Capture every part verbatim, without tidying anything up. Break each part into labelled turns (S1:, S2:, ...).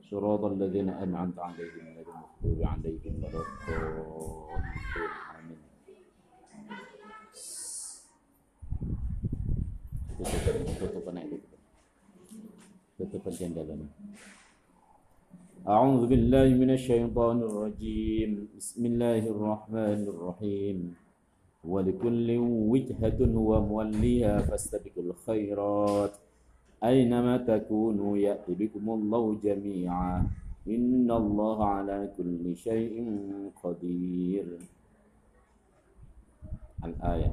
S1: Shiratal ladzina an'amta 'alaihim ghairil maghdubi 'alaihim waladdallin. Amin. Tutupan itu. Tutupan jendelanya. A'udzu billahi minasyaitonir rajim. Bismillahirrahmanirrahim. Wa likulli wijhatun huwa muwalliha fastabiqul khairat. Aynama takunu ya'ti bikumullahu jami'a. Innallaha 'ala kulli syai'in qadir. Al-ayat.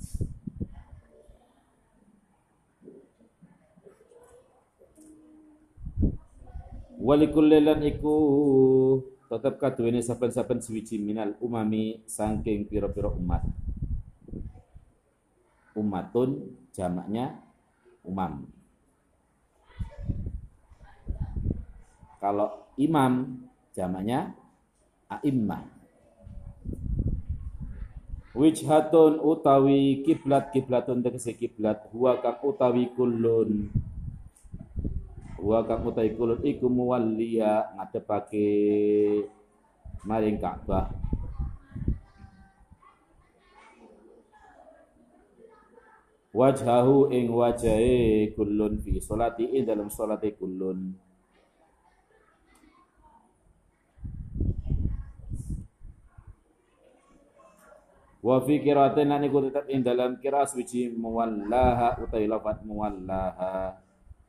S1: Walikullilan iku tetep kaduwene saben-saben suwiji minal umami saking pira-pira umat. Umatun jamaknya umam. Kalau imam jamaknya a'immah. Wijhatun utawi kiblat, kiblatun tegese kiblat, huwa kang utawi kullun. Huwa kang utawi kullun iku muwalliya ngadepake maring Ka'bah. Wajhahu ing wajahe kullun fi sholati ing dalam sholate kullun. Wa fi qira'atin lan iku tetep ing dalam qira'ah suci muwallaha utawi lafaz muwallaha.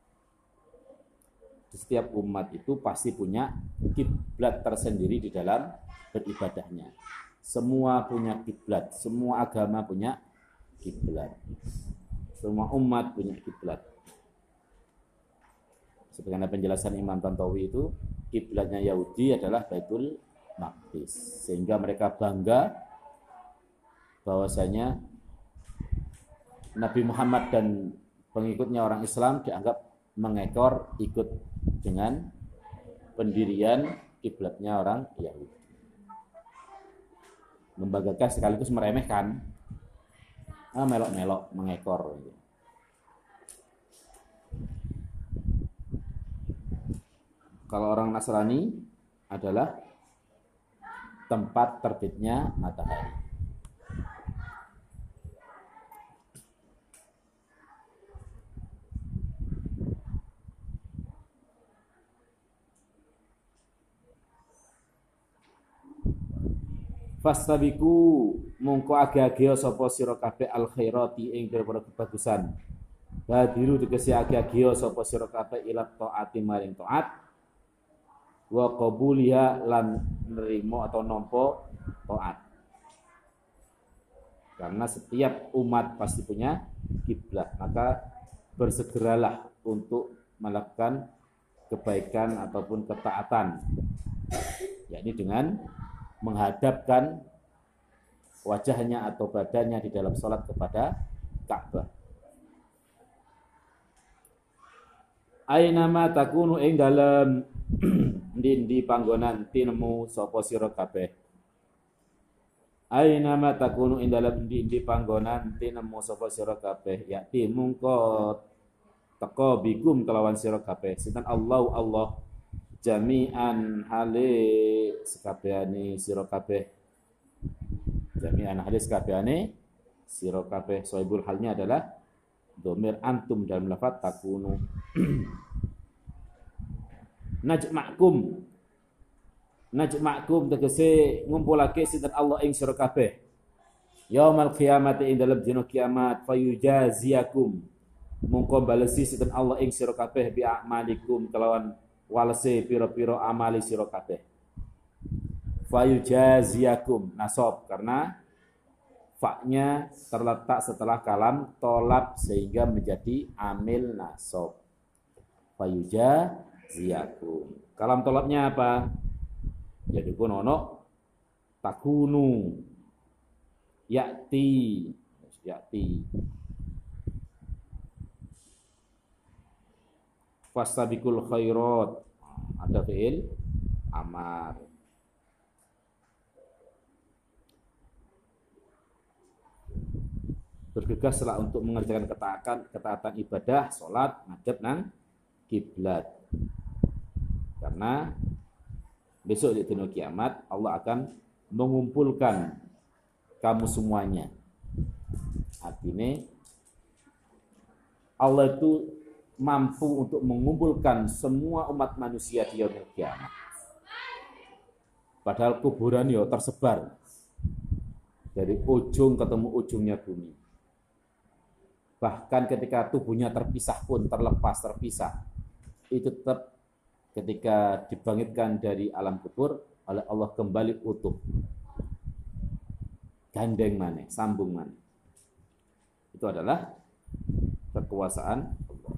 S1: Setiap umat itu pasti punya kiblat tersendiri di dalam beribadahnya. Semua punya kiblat, semua agama punya kiblat. Semua umat punya kiblat. Sebagaimana penjelasan Imam Tantawi itu, kiblatnya Yahudi adalah Baitul Maqdis. Sehingga mereka bangga bahwasanya Nabi Muhammad dan pengikutnya orang Islam dianggap mengekor ikut dengan pendirian kiblatnya orang Yahudi. Membanggakan sekaligus meremehkan, ah, melok-melok mengekor. Kalau orang Nasrani adalah tempat terbitnya matahari. Fastabiku mongko age-age sapa sira kabeh al khairati ing pira-pira kebagusan. Badiru tegese age-age sapa sira kabeh ila taati maring taat. Wa qabuliha lan nerimo atau nampa taat. Karena setiap umat pasti punya kiblat, maka bersegeralah untuk melakukan kebaikan ataupun ketaatan, yakni dengan menghadapkan wajahnya atau badannya di dalam sholat kepada Ka'bah. Ainama takunu ing dalem ndi panggonan tinemu sapa sira kabeh. Ainama takunu ing dalem ndi panggonan tinemu sapa sira kabeh, yakti mungko teka bikum kelawan sira kabeh. Sinten Allah Allah jami'an hale sekabehane sira kabeh. Jami'an hale sekabehane sira kabeh. Soibul halnya adalah dhamir antum dalam lafaz takunu. Najma'kum. Najma'kum tegese ngumpulake sinten Allah ing sira kabeh. Yaumul qiyamati ing dalem dina kiamat fayujaziyakum. Mongko balesi sinten Allah ing sira kabeh bi a'malikum kelawan walese piro-piro amali sira kabeh. Fayujaziyakum nasab karena fa-nya terletak setelah kalam tolab sehingga menjadi amil nasab. Fayujaziyakum. Kalam tolabnya apa? Jadi kono takunu ya'ti ya'ti fastabiqul khairat, ada fi'il amar. Bergegaslah untuk mengerjakan ketaatan ketaatan ibadah, salat, ngadep nang kiblat. Karena besok di dunia kiamat Allah akan mengumpulkan kamu semuanya. Artinya Allah itu mampu untuk mengumpulkan semua umat manusia di yaumil kiamat. Padahal kuburan ya tersebar dari ujung ketemu ujungnya bumi. Bahkan ketika tubuhnya terpisah pun, terlepas, terpisah, itu tetap ketika dibangkitkan dari alam kubur oleh Allah kembali utuh. Gandeng mana, sambung mana. Itu adalah kekuasaan Allah.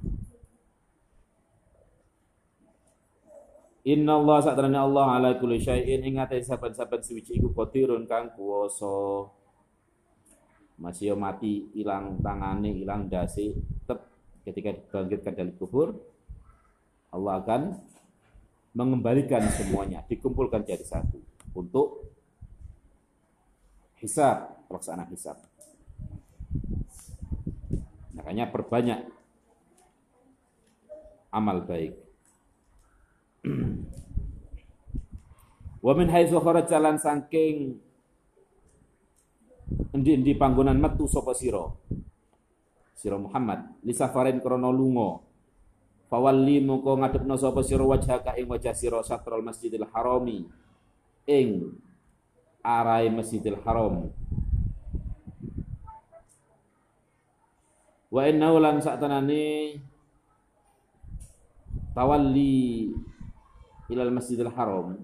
S1: Inna Allah sa'adrana Allah ala kulli syai'in ingatasi saban-saban suci iku qadirun kang kuwasa. Masih mati, hilang tangane, hilang dasi, tetap ketika dibangkitkan dari kubur Allah akan mengembalikan semuanya, dikumpulkan jadi satu untuk hisab, pelaksanaan hisab. Makanya perbanyak amal baik. Wa min haitsu kharaja lan saking endi-endi panggonan metu sapa sira sira Muhammad li safarin krana lunga fawalli moko ngadepna sapa sira wajhaka ing wajah sira satrul Masjidil Harami ing arahe Masjidil Haram wa innahu lan saktenane tawalli ilal Masjidil Haram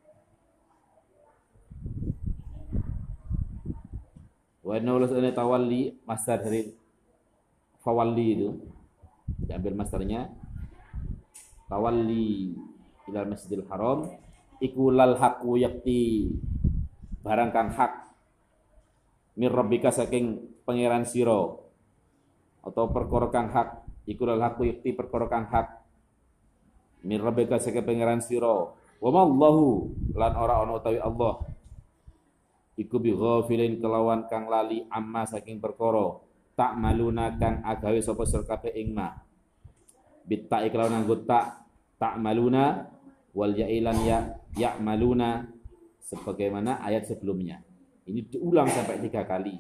S1: wa innahu lan tawalli masdar dari fawalli itu diambil masdarnya tawalli ilal Masjidil Haram iku lal haqu yakti barang kang hak mir rabbika saking pangeran sira atau perkara kang hak iku lal haqu yakti perkara kang hak mir rabbika saking pangeran sira wa mallahu lan ora ana utawi Allah iku bi ghafilin kelawan kang lali amma saking perkara tak maluna kang agawe sapa sira kabeh ing ma bitta iklawan nganggo tak tak maluna wal ya'ilan ya ya'maluna sebagaimana ayat sebelumnya. Ini diulang sampai tiga kali.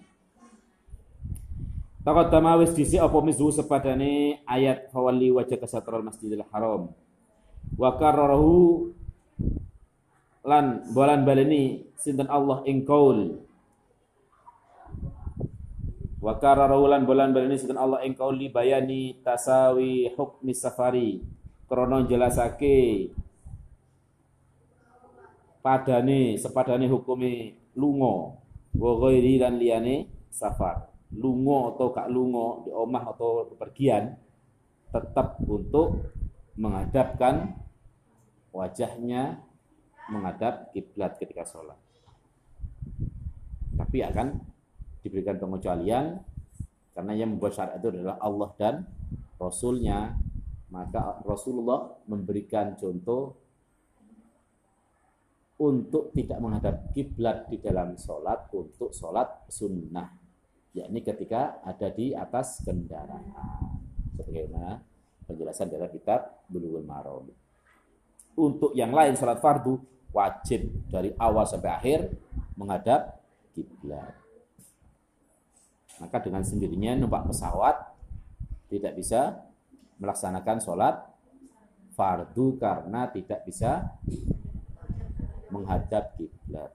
S1: Taqaddama wis dhisik apa mizu sepadane ayat fawalli wajha kasatral Masjidil Haram. Wa kararahu lan bolan baleni sinten Allah ing qaul. Wa kararahu lan bolan baleni sinten Allah ing qaul li bayani tasawi hukmi safari. Krana jelasake padane sepadane hukume lunga wa ghairi lan liyane safar. Lunga atau gak lunga di omah atau bepergian tetap untuk menghadapkan wajahnya menghadap kiblat ketika sholat. Tapi akan diberikan pengecualian karena yang membuat syariat itu adalah Allah dan Rasulnya. Maka Rasulullah memberikan contoh untuk tidak menghadap kiblat di dalam sholat untuk sholat sunnah, yakni ketika ada di atas kendaraan, sebagaimana penjelasan dalam kitab Bulughul Maram. Untuk yang lain sholat fardu wajib dari awal sampai akhir menghadap kiblat. Maka dengan sendirinya numpak pesawat tidak bisa melaksanakan sholat fardu karena tidak bisa menghadap kiblat.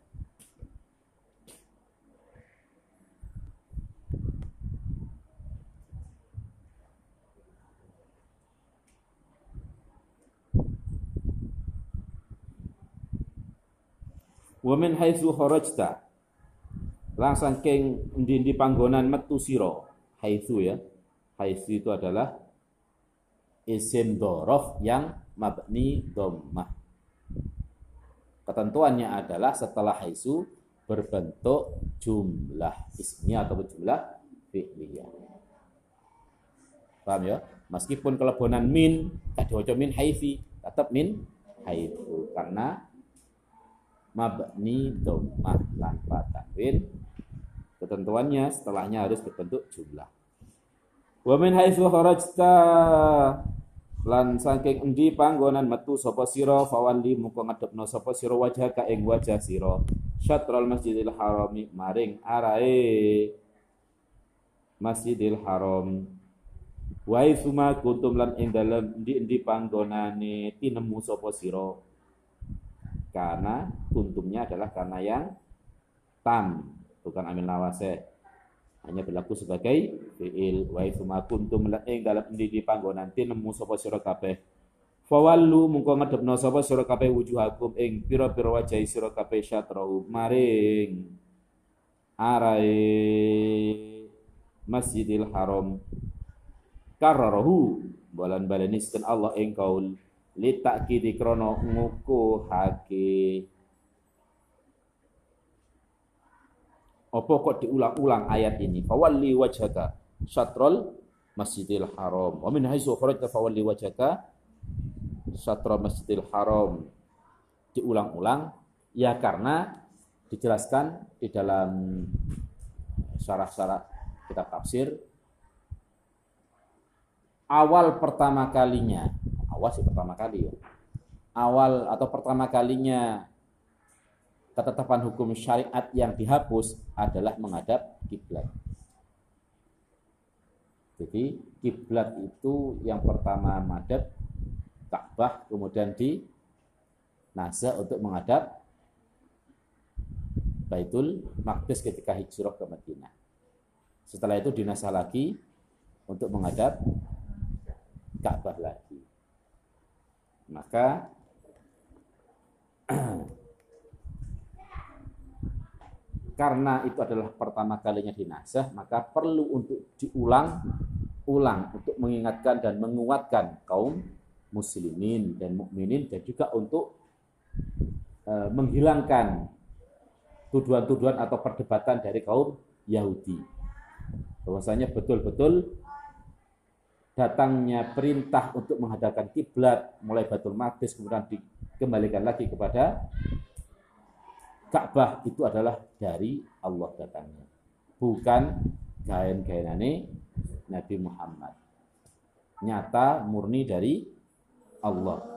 S1: Wa min haitsu kharajta lan saking endi-endi panggonan metu sira. Haitsu ya. Haitsu itu adalah isim dzaraf yang mabni dhammah. Ketentuannya adalah setelah haitsu berbentuk jumlah ismiyah atau jumlah fi'liyah. Paham ya? Meskipun kelebonan min, tak diwaca min haitsi, tetap min haitsu karena mabni dhammah tanpa tanwin. Ketentuannya setelahnya harus berbentuk jumlah. Wa min haitsu kharajta Lan saking endi panggonan metu sapa sira fawalli mungko ngadepno sapa sira wajhaka ing wajah sira syatrul masjidil harami maring arahe Masjidil Haram. Wa suma kuntum lan ing dalem endi-endi panggonane tinemu sapa sira. Karena kuntumnya adalah karena yang tam, bukan amil nawase. Hanya berlaku sebagai fi'il. Wa suma kuntum lan ing dalem endi-endi panggonan tinemu sapa sira kabeh. Fawallu mungko ngadepno sapa sira kabeh wujuhakum ing pira-pira wajah sira kabeh syatrahu maring arahe Masjidil Haram. Kararahu balan balaniskan Allah ing kaul li takkidi krana ngukuhake. Apa kok diulang-ulang ayat ini? Fawalli wajhaka syatrul Masjidil Haram. Wa min haitsu kharajta fawalli wajhaka syatrul Masjidil Haram. Diulang-ulang ya karena dijelaskan di dalam syarah-syarah kitab tafsir, awal pertama kalinya, awal sih pertama kali ya, awal atau pertama kalinya ketetapan hukum syariat yang dihapus adalah menghadap kiblat. Jadi kiblat itu yang pertama madhab Ka'bah, kemudian di nasa untuk menghadap Baitul Maqdis ketika hijrah ke Madinah. Setelah itu dinasah lagi untuk menghadap Ka'bah lagi. Maka karena itu adalah pertama kalinya dinasah, maka perlu untuk diulang-ulang untuk mengingatkan dan menguatkan kaum muslimin dan mukminin, dan juga untuk e, menghilangkan tuduhan-tuduhan atau perdebatan dari kaum Yahudi. Bahwasanya betul-betul datangnya perintah untuk menghadapkan kiblat mulai Baitul Maqdis kemudian dikembalikan lagi kepada Ka'bah itu adalah dari Allah datangnya, bukan gaen-gaenane Nabi Muhammad. Nyata murni dari Allah.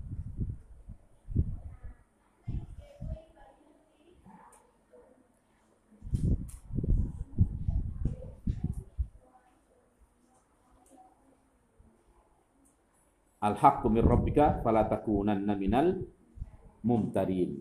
S1: Al-haqqu min rabbika fala takunanna minal mumtarin.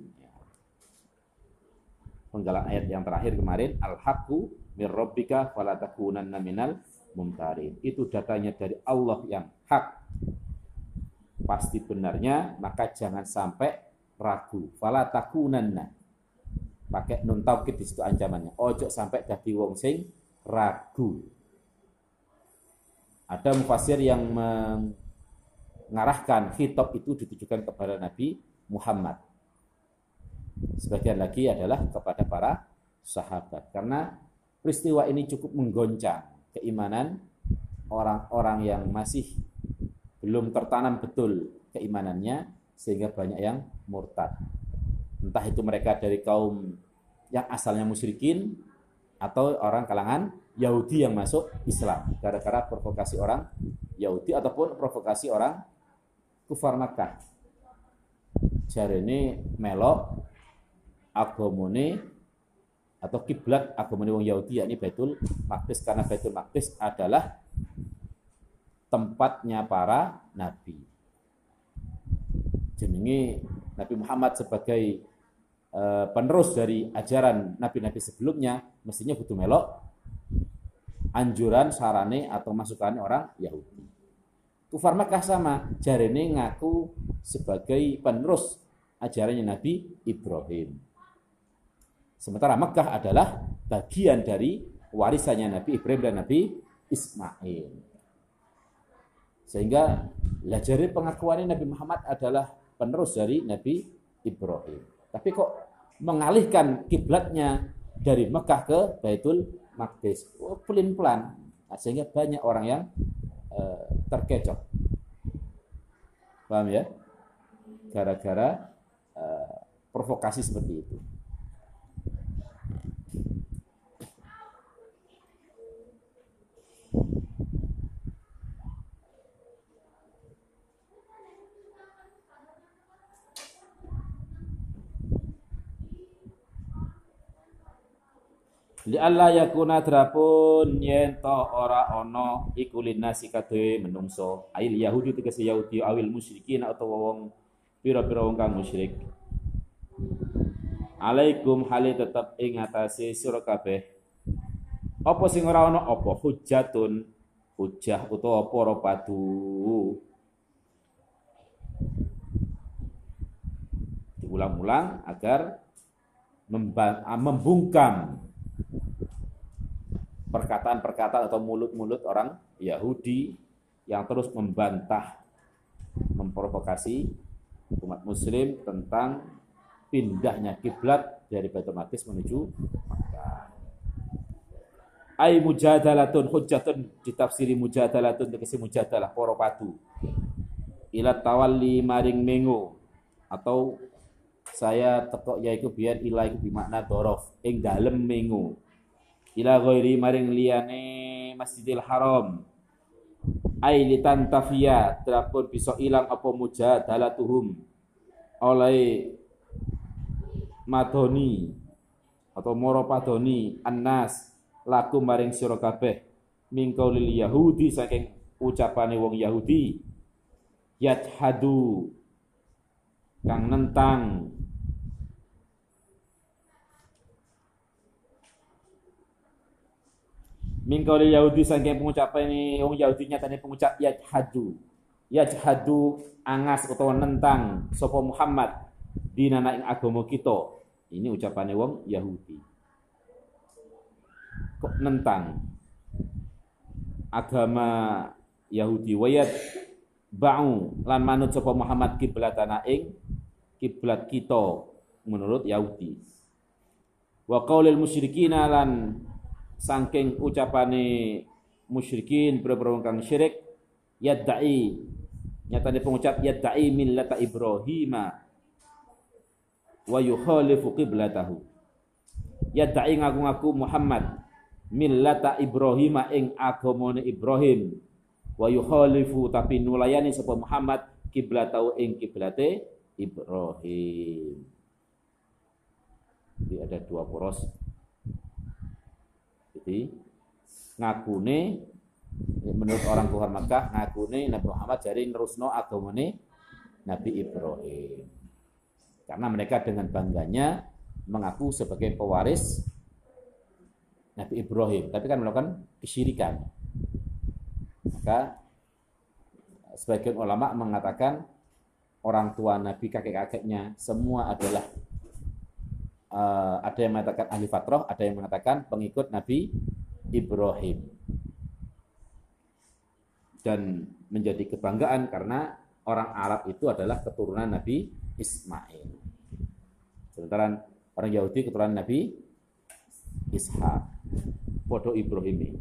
S1: Penggalan ayat yang terakhir kemarin, al-haqqu min rabbika fala takunanna minal mumtarin. Itu datanya dari Allah yang hak, pasti benarnya, maka jangan sampai ragu. Fala takunanna. Pakai nun taukid di situ ancamannya. Ojo sampai dadi wong sing ragu. Ada mufasir yang meng mengarahkan khitab itu ditujukan kepada Nabi Muhammad. Sebagian lagi adalah kepada para sahabat. Karena peristiwa ini cukup menggoncang keimanan orang-orang yang masih belum tertanam betul keimanannya, sehingga banyak yang murtad. Entah itu mereka dari kaum yang asalnya musyrikin atau orang kalangan Yahudi yang masuk Islam gara-gara provokasi orang Yahudi ataupun provokasi orang kufar Makkah. Jarene melok agamane atau kiblat agamane wong Yahudi, yakni Baitul Maqdis, karena Baitul Maqdis adalah tempatnya para nabi. Jenenge Nabi Muhammad sebagai uh, penerus dari ajaran nabi-nabi sebelumnya, mestinya kudu melok anjuran, sarane atau masukan orang Yahudi. Kufar Makkah sama, jarene ngaku sebagai penerus ajarannya Nabi Ibrahim. Sementara Makkah adalah bagian dari warisannya Nabi Ibrahim dan Nabi Ismail. Sehingga lajari pengakuannya Nabi Muhammad adalah penerus dari Nabi Ibrahim. Tapi kok mengalihkan kiblatnya dari Mekah ke Baitul Maqdis, oh, pelin-pelan, nah, sehingga banyak orang yang uh, terkecoh. Paham ya? Gara-gara uh, provokasi seperti itu. Li alla yakuna drapun yen to ora ana iku linasi kadhe menungso ail yahudi tegese yahudi awil musyrikin utawa wong pira-pira wong kang musyrik. Alaikum hale tetep ing atase sira kabeh apa sing ora ana apa hujjatun hujjah utawa para padu diulang-ulang agar membungkam perkataan-perkataan atau mulut-mulut orang Yahudi yang terus membantah, memprovokasi umat muslim tentang pindahnya kiblat dari Baitul Maqdis menuju Makkah. Ai mujadalatun hujjatun ditafsiri mujadalatun tegese mujadalah para padu. Ila tawalli maring mengo atau saya tekok yaiku biyen ila iku bermakna dhorof ing dalem mengo. Ila ghairi maring liyane Masjidil Haram ai litantafiya terapun bisa ilang apa mujadalatuhum oleh madoni atau moro padoni annas laku maring sira kabeh mingkau lil yahudi saking ucapane wong Yahudi yajhadu kang nentang mingkau Yahudi saking pengucapan ini wong Yahudi nyatane pengucap yajhadu yajhadu angas utawa nentang sapa Muhammad dinana ing agama kita. Ini ucapane wong Yahudi kok nentang agama Yahudi wayat ba'u lan manut sapa Muhammad kiblatana ing kiblat kita menurut Yahudi wa qaulil musyrikina lan saking ucapane musyrikin boro-boro kang syirik yad'i nyatane pengucap yad'i millata Ibrahim wa yukhalifu qiblatahu yad'i ngaku-ngaku Muhammad millata Ibrahim ing agamane Ibrahim wa yukhalifu tapi nulayani sapa Muhammad kiblatahu ing kiblate Ibrahim. Jadi ada dua poros. Jadi ngakune menurut orang kafir Makkah ngakune Nabi Muhammad jari nerusno agamane Nabi Ibrahim. Karena mereka dengan bangganya mengaku sebagai pewaris Nabi Ibrahim, tapi kan melakukan kesyirikan. Maka sebagian ulama mengatakan orang tua Nabi, kakek-kakeknya semua adalah Uh, ada yang mengatakan ahli fatrah, ada yang mengatakan pengikut Nabi Ibrahim. Dan menjadi kebanggaan karena orang Arab itu adalah keturunan Nabi Ismail. Sementara orang Yahudi keturunan Nabi Ishak. Podo Ibrahim.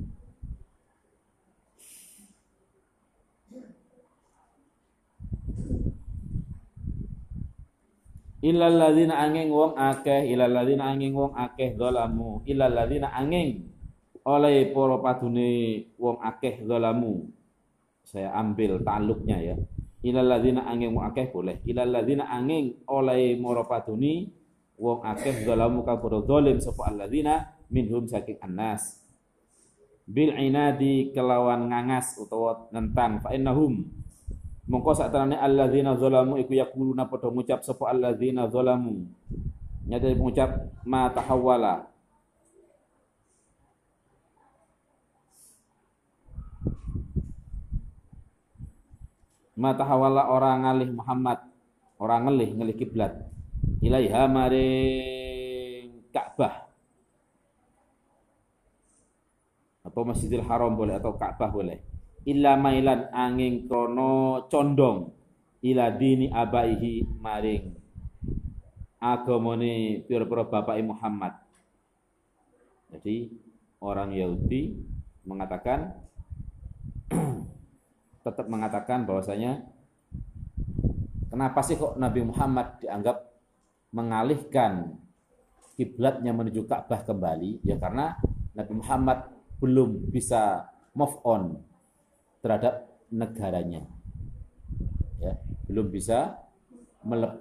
S1: Illal ladzina angin wong akeh illal ladzina angin wong akeh zalamu illal ladzina angin oleh para padune wong akeh zalamu. Saya ambil taluknya ya. Illal ladzina angin wong akeh boleh. Illal ladzina angin oleh para padune wong akeh zalamu ka padha zalim sapa alladzina minhum saking annas. Bil inadi kelawan ngangas utawa nentang fa innahum mongko satarane alladzina zalamu iku yaquluna padha ngucap sapa alladzina zalamu nyata mengucap ma tahawwala ma tahawwala orang ngalih Muhammad orang ngelih ngelih kiblat ilaiha maring Ka'bah atau Masjidil Haram boleh atau Ka'bah boleh illa mailan angin krono condong ila dini abaihi maring agamane pira-pira bapake Muhammad. Jadi orang Yahudi mengatakan tetap mengatakan bahwasanya kenapa sih kok Nabi Muhammad dianggap mengalihkan kiblatnya menuju Ka'bah kembali? Ya karena Nabi Muhammad belum bisa move on terhadap negaranya, ya, belum bisa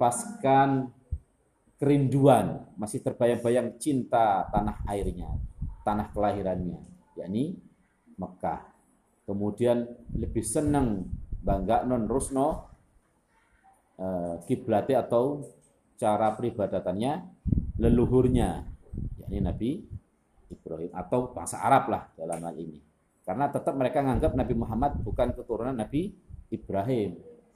S1: melepaskan kerinduan, masih terbayang-bayang cinta tanah airnya. tanah kelahirannya, yakni Mekah. Kemudian lebih senang bangga non rusno eh, kiblate atau cara peribadatannya leluhurnya, yakni Nabi Ibrahim atau bangsa Arab lah dalam hal ini. Karena tetap mereka menganggap Nabi Muhammad bukan keturunan Nabi Ibrahim.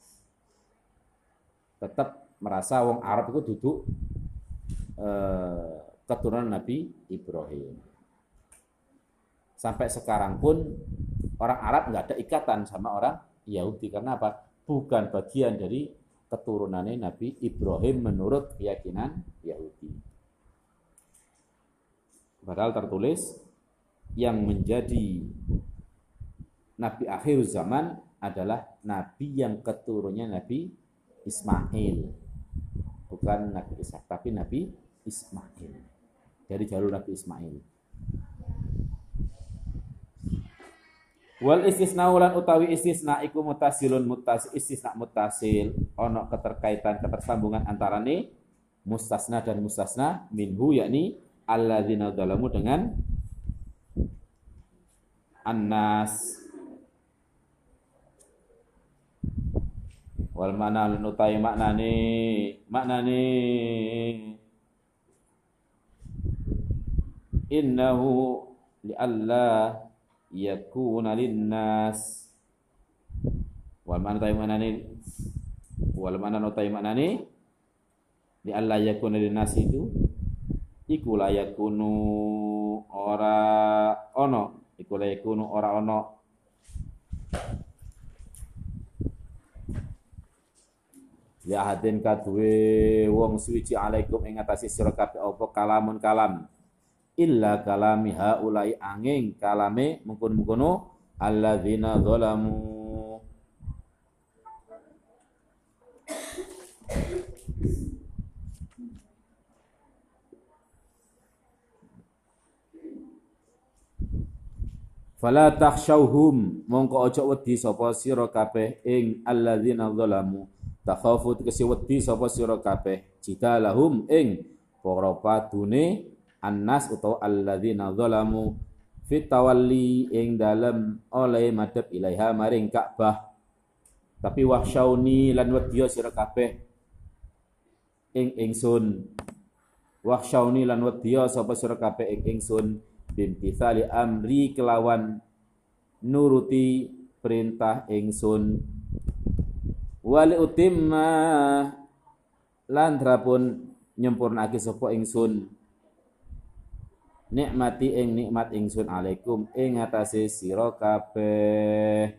S1: Tetap merasa wong Arab itu duduk eh, keturunan Nabi Ibrahim. Sampai sekarang pun orang Arab nggak ada ikatan sama orang Yahudi. Karena apa? Bukan bagian dari keturunannya Nabi Ibrahim menurut keyakinan Yahudi. Padahal tertulis yang menjadi Nabi akhir zaman adalah Nabi yang keturunannya Nabi Ismail. Bukan Nabi Ishak, tapi Nabi Ismail. Dari jalur Nabi Ismail. Wal istisna ulan utawi istisna iku mutasilun mutas istisna mutasil ono keterkaitan ketersambungan antarane mustasna dan mustasna minhu yakni alladzina zalamu dengan annas. Wal mana nutai maknane maknane innahu li alla yakuna linnas. Wal mana nutai maknane wal mana nutai maknane li alla yakuna linnas itu iku la yakunu ora ono iku la yakunu ora ono ya hadin kaduwe wong suci alaikum ing atase sira kabeh apa kalamun kalam illa kalami haulai angin kalame mungkun-mungkono alladzina zalamu. Fala takhshawhum mongko aja wedi sapa sira kabeh ing alladzina zalamu. Takhafu tegese wedi sapa sira kabeh jika lahum ing para padune annas utawa alladzina zalamu fit tawalli ing dalem oleh madhep ilaiha maring Ka'bah. Tapi wahsyauni lan wedi sira kabeh ing ingsun wahsyauni lan wedi sapa sira kabeh ing ingsun bimtithali amri kelawan nuruti perintah ingsun wali utimma lan drapun nyempurnake sapa ingsun nikmati ing nikmat ingsun alaikum ing atase sira kabeh.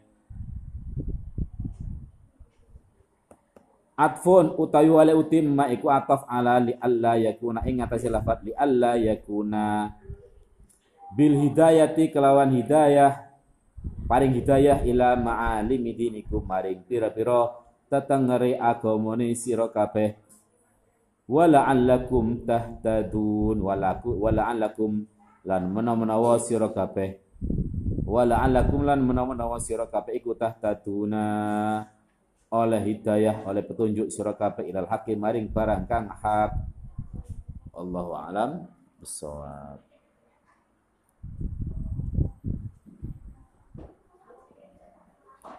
S1: Atfun utawi wali utimma iku ataf ala li alla yakuna ing atase lafat li alla yakuna bil hidayati kelawan hidayah paring hidayah ila ma'alimi dinikum maring pira-pira tetengere agamane sira kabeh wala'allakum tahtadun walaku wala'allakum lan menawa-menawa sira kabeh wala'allakum lan menawa-menawa sira kabeh iku tahtaduna oleh hidayah oleh petunjuk sira kabeh ilal hakim maring barang kang hak. Allahu a'lam bissawab.